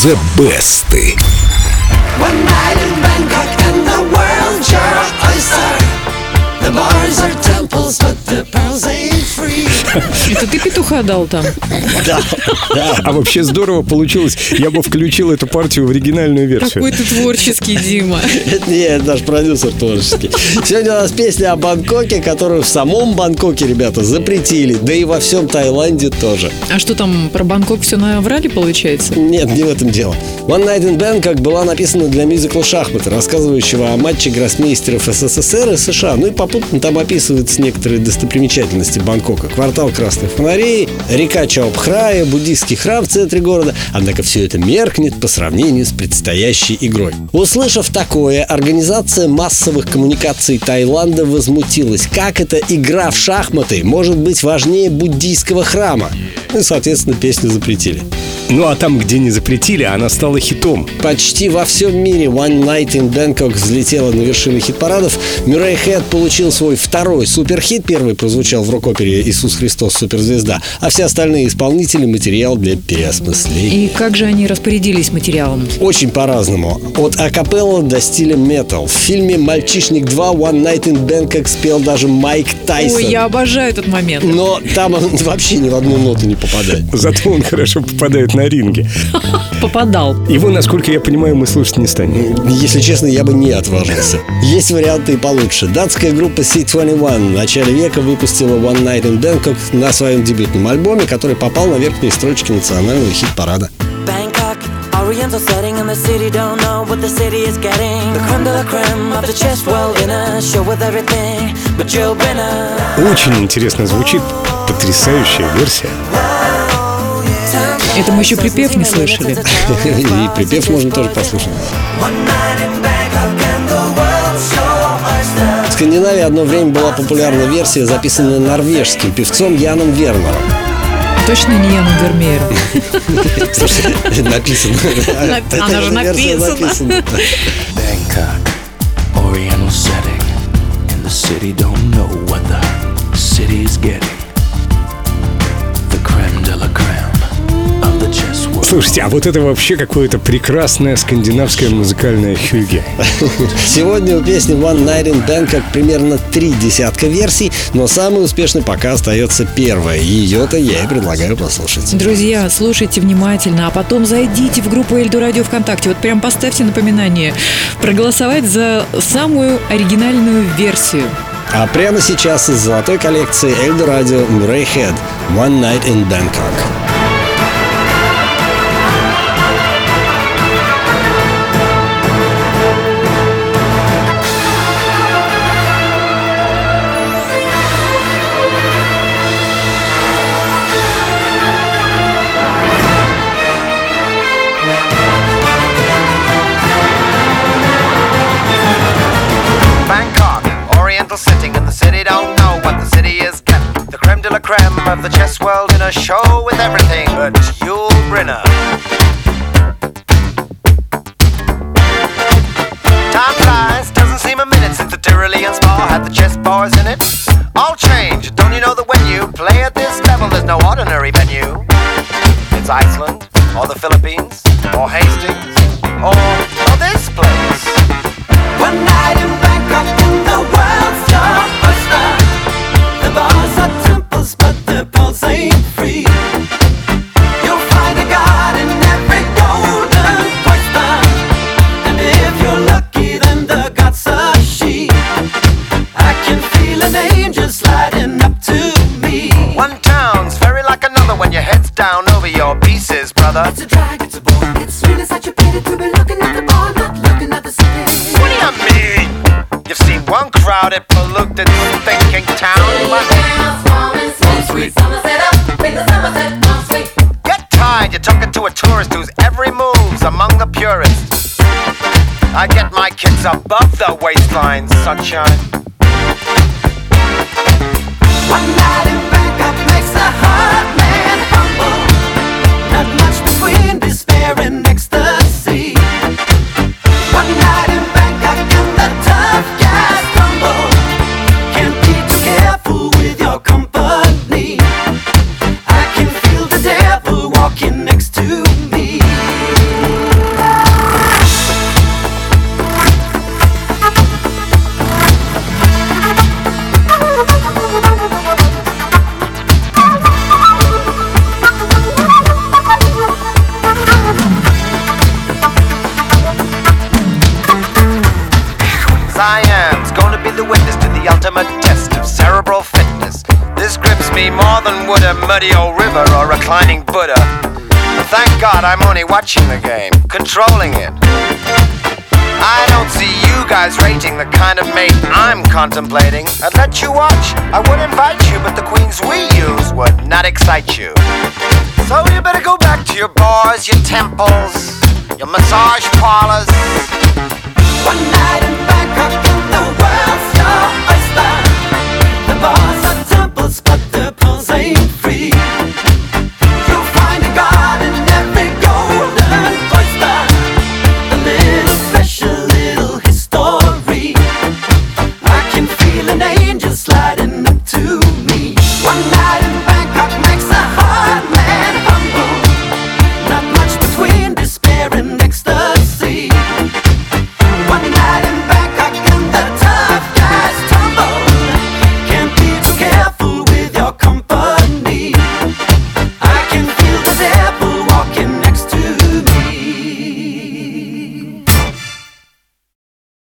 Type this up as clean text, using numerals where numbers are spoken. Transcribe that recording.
The Best. One night in Bangkok and the world's your oyster. The bars are temples, but the pearls ain't free. Это ты петуха дал там? Да. А вообще здорово получилось. Я бы включил эту партию в оригинальную версию. Какой ты творческий, Дима. Нет, наш продюсер творческий. Сегодня у нас песня о Бангкоке, которую в самом Бангкоке, ребята, запретили. Да и во всем Таиланде тоже. А что там, про Бангкок все наврали, получается? Нет, не в этом дело. One Night in Bangkok была написана для мюзикла «Шахматы», рассказывающего о матче гроссмейстеров СССР и США. Ну и попутно там описываются некоторые достопримечательности Бангкока. Квартал красных фонарей, река Чаопхрая, буддийский храм в центре города. Однако все это меркнет по сравнению с предстоящей игрой. Услышав такое, организация массовых коммуникаций Таиланда возмутилась. Как эта игра в шахматы может быть важнее буддийского храма? И, соответственно, песню запретили. Ну а там, где не запретили, она стала хитом. Почти во всем мире One Night in Bangkok взлетела на вершины хит-парадов. Мюррей Хед получил свой второй суперхит. Первый прозвучал в рок-опере «Иисус Христос. Суперзвезда». А все остальные исполнители — материал для переосмысления. И как же они распорядились материалом? Очень по-разному. От акапелла до стиля метал. В фильме «Мальчишник 2» One Night in Bangkok спел даже Майк Тайсон. Ой, я обожаю этот момент. Но там он вообще ни в одну ноту не попадает. Зато он хорошо попадает на ринге. Попадал. Его, насколько я понимаю, мы слушать не станем. Если честно, я бы не отважился. Есть варианты и получше. Датская группа C21 в начале века выпустила One Night in Bangkok на своем дебютном альбоме, который попал на верхние строчки национального хит-парада. Oriental setting and the city don't know what the city is getting. The creme de la creme of the chess world in a show with everything but Joe Brenner. Очень интересно звучит. Потрясающая версия. Это мы еще припев не слышали. И припев можно тоже послушать. В Скандинавии одно время была популярна версия, записанная норвежским певцом Яном Вернером. Точно не Яном Вермеером. Слушай, написано. Она же написана. Bangkok, Oriental setting, and the city don't know what the city is getting. The creme de la creme of the chess world. Слушайте, а вот это вообще какое-то прекрасное скандинавское музыкальное хюге. Сегодня у песни One Night in Bangkok примерно 3 десятка версий, но самой успешной пока остается первая. Ее-то я и предлагаю послушать. Друзья, слушайте внимательно, а потом зайдите в группу Эльдо Радио ВКонтакте. Вот прям поставьте напоминание проголосовать за самую оригинальную версию. А прямо сейчас из золотой коллекции Эльдо Радио Мюррей Хед One Night in Bangkok. Setting in the city don't know what the city is getting. The creme de la creme of the chess world in a show with everything but Yul Brynner. Time flies, doesn't seem a minute since the Tyrolean Spa had the chess bars in it. All change, don't you know that when you play at this level there's no ordinary venue? It's Iceland, or the Philippines, or Hastings, or this place. One night in Bangkok and the world's your oyster. The bars are temples, but the pearls ain't free. You'll find a god in every golden oyster, and if you're lucky, then the god's a she. I can feel an angel sliding up to me. One town's very like another when your head's down over your pieces, brother. It's a drag, it's a bore. It's really such a pity to be looking at the bar, not looking at the city. What do you mean? You've seen one crowded, polluted, thinking town, but get tired, you're talking to a tourist whose every move's among the purists. I get my kids above the waistline, sunshine. One night in Bangkok makes a hard man humble. Not much between despair and ecstasy. One night in Bangkok and the tough guys crumble. Can't be too careful with your company. I can feel the devil walking next to me. more than would a muddy old river or reclining Buddha. But thank God I'm only watching the game, controlling it. I don't see you guys rating the kind of mate I'm contemplating. I'd let you watch, I would invite you, but the queens we use would not excite you. So you better go back to your bars, your temples, your massage parlors. One night in Bangkok.